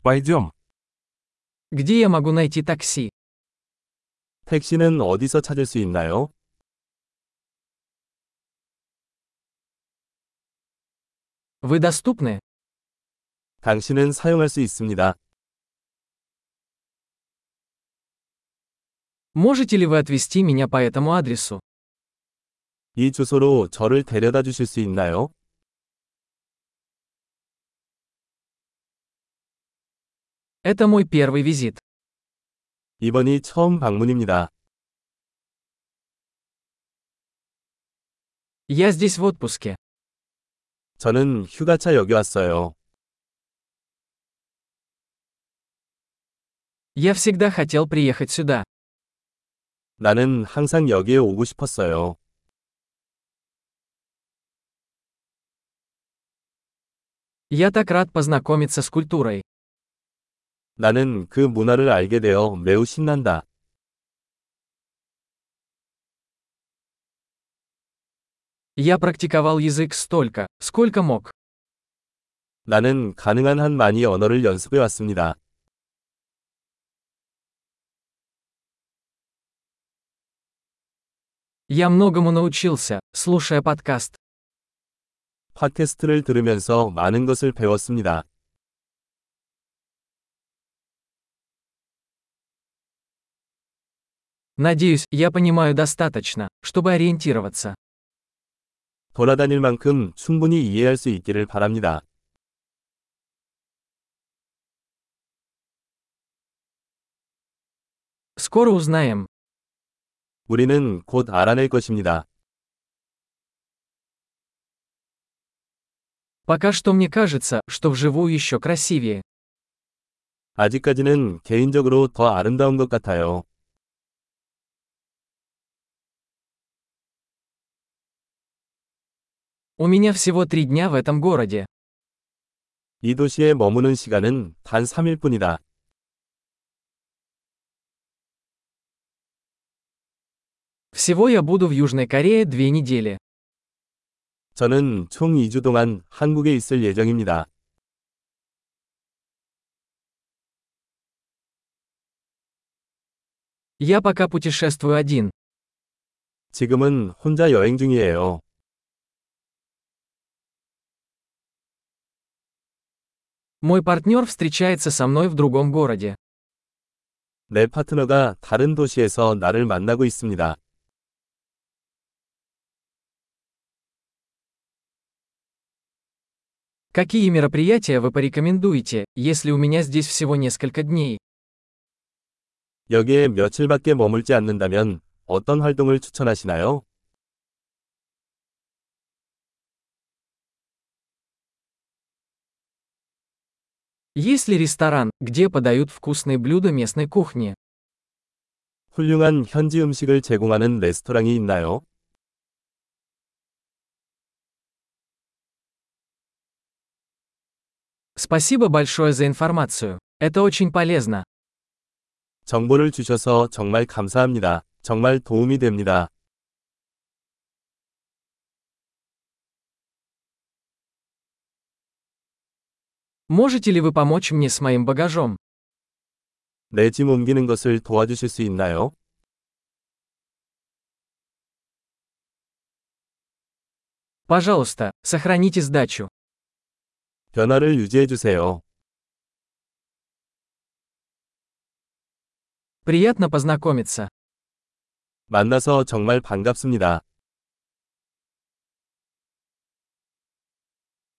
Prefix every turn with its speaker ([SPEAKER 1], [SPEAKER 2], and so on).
[SPEAKER 1] Пойдем.
[SPEAKER 2] Где я могу найти такси?
[SPEAKER 3] 택시는 어디서 찾을 수 있나요?
[SPEAKER 2] Вы доступны?
[SPEAKER 3] 당신은 사용할 수 있습니다.
[SPEAKER 2] Можете ли вы отвезти меня по этому адресу?
[SPEAKER 3] 이 주소로 저를 데려다 주실 수 있나요?
[SPEAKER 2] Это мой первый визит.
[SPEAKER 3] 이번이 처음 방문입니다.
[SPEAKER 2] Я здесь в отпуске.
[SPEAKER 3] 저는 휴가차 여기 왔어요.
[SPEAKER 2] Я всегда хотел приехать сюда.
[SPEAKER 3] 나는 항상 여기에 오고 싶었어요.
[SPEAKER 2] Я так рад познакомиться с культурой.
[SPEAKER 3] 나는 그 문화를 알게 되어 매우 신난다.
[SPEAKER 2] Я практиковал язык столько, сколько мог.
[SPEAKER 3] 나는 가능한 한 많이 언어를 연습해 왔습니다.
[SPEAKER 2] Я многому научился, слушая подкаст.
[SPEAKER 3] 팟캐스트를 들으면서 많은 것을 배웠습니다.
[SPEAKER 2] Надеюсь, я понимаю достаточно, чтобы ориентироваться.
[SPEAKER 3] 돌아다닐 만큼 충분히 이해할 수 있기를 바랍니다.
[SPEAKER 2] Скоро узнаем.
[SPEAKER 3] 우리는 곧 알아낼 것입니다.
[SPEAKER 2] Пока что мне кажется, что вживую еще красивее.
[SPEAKER 3] 아직까지는 개인적으로 더 아름다운 것 같아요.
[SPEAKER 2] У меня всего 3 дня в этом городе.
[SPEAKER 3] 이 도시에 머무는 시간은 단 3일 뿐이다.
[SPEAKER 2] Всего я буду в Южной Корее 2 недели.
[SPEAKER 3] 저는 총 2주 동안 한국에 있을 예정입니다.
[SPEAKER 2] Я пока путешествую один.
[SPEAKER 3] 지금은 혼자 여행 중이에요.
[SPEAKER 2] Мой партнер встречается со мной в другом городе.
[SPEAKER 3] 내 파트너가 다른 도시에서 나를 만나고 있습니다.
[SPEAKER 2] Какие мероприятия вы порекомендуете, если у меня здесь всего несколько дней?
[SPEAKER 3] 여기에 며칠밖에 머물지 않는다면 어떤 활동을 추천하시나요?
[SPEAKER 2] Есть ли ресторан, где подают вкусные блюда местной кухни?
[SPEAKER 3] 훌륭한 현지 음식을 제공하는 레스토랑이 있나요?
[SPEAKER 2] Спасибо большое за информацию. Это очень полезно.
[SPEAKER 3] 정보를 주셔서 정말 감사합니다. 정말 도움이 됩니다.
[SPEAKER 2] Можете ли вы помочь мне с моим багажом?
[SPEAKER 3] 내 짐 옮기는 것을 도와주실 수 있나요?
[SPEAKER 2] Пожалуйста, сохраните сдачу.
[SPEAKER 3] 변화를 유지해 주세요.
[SPEAKER 2] Приятно познакомиться.
[SPEAKER 3] 만나서 정말 반갑습니다.